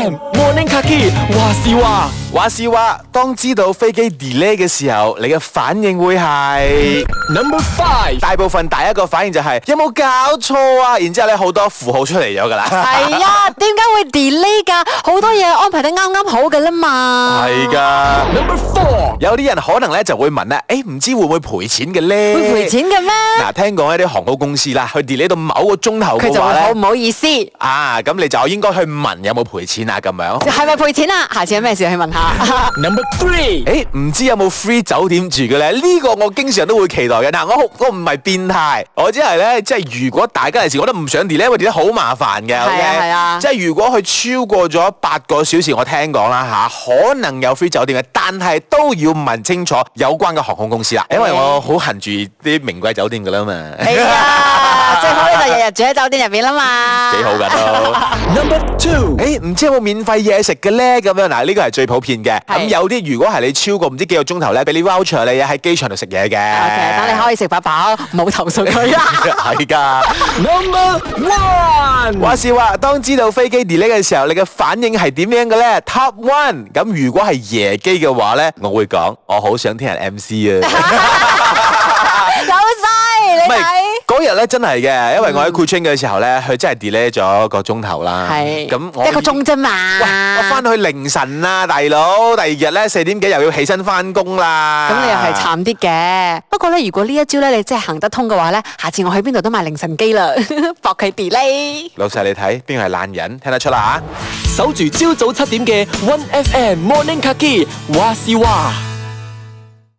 FM Morning Kaki 話事話，當知道飛機 delay 嘅時候，你嘅反應會係 Number 5。大部分第一個反應就係有冇搞錯啊？然之後咧好多符號出嚟咗噶啦。 係啊，點解會 delay 㗎？好多嘢安排得啱啱好㗎啦嘛。 係㗎。Number 4。有啲人可能咧就會問啦，唔知會唔會賠錢嘅咧？ 會賠錢嘅咩？ 嗱，聽講一啲航空公司啦，佢 delay 到某個鐘頭佢就會好唔好意思。 咁你就應該去問有冇賠錢啊咁樣。 係咪賠錢啊？下次有咩事去問下。 Number 3，唔知有冇 free 酒店住嘅咧？呢個我經常都會期待嘅。嗱，我唔係變態，我只係咧，即係如果大家嚟時覺得唔想 delay，因為 delay 好麻煩嘅。 係啊。 即係如果佢超過咗8個小時，我聽講啦可能有 free 酒店嘅，但係都要問清楚有關嘅航空公司啦。因為我好恨住啲名貴酒店噶啦嘛。 係啊，最好咧就日日住喺酒店入邊啦嘛。 幾好噶都。Number 2，唔知有冇免費嘢食嘅咧？咁樣嗱，呢個係最普遍嘅。咁有啲如果係你超過唔知幾個鐘頭咧，俾你 voucher 你喺機場度食嘢嘅。 OK， 等你可以食飽飽，冇投訴佢啊。 係㗎。Number 1，話事話，當知道飛機 delay 嘅時候，你嘅反應係點樣嘅咧 ？Top 1，咁如果係夜機嘅話咧，我會講我好想聽人 MC 啊。 有晒你睇。 嗰日咧真係嘅，因為我喺 Kuching 嘅時候咧，佢真係 delay 咗1個鐘頭啦。 係。 咁我 1個鐘啫嘛。 我翻去凌晨啊，大佬，第二日咧4點幾又要起身翻工啦。 咁你又係慘啲嘅。不過咧，如果呢一招咧你真係行得通嘅話咧，下次我去邊度都買凌晨機啦，搏佢 delay。 老細你睇邊個係爛人，聽得出啦嚇。 守住朝早7點嘅 One FM Morning Kaki 話事話。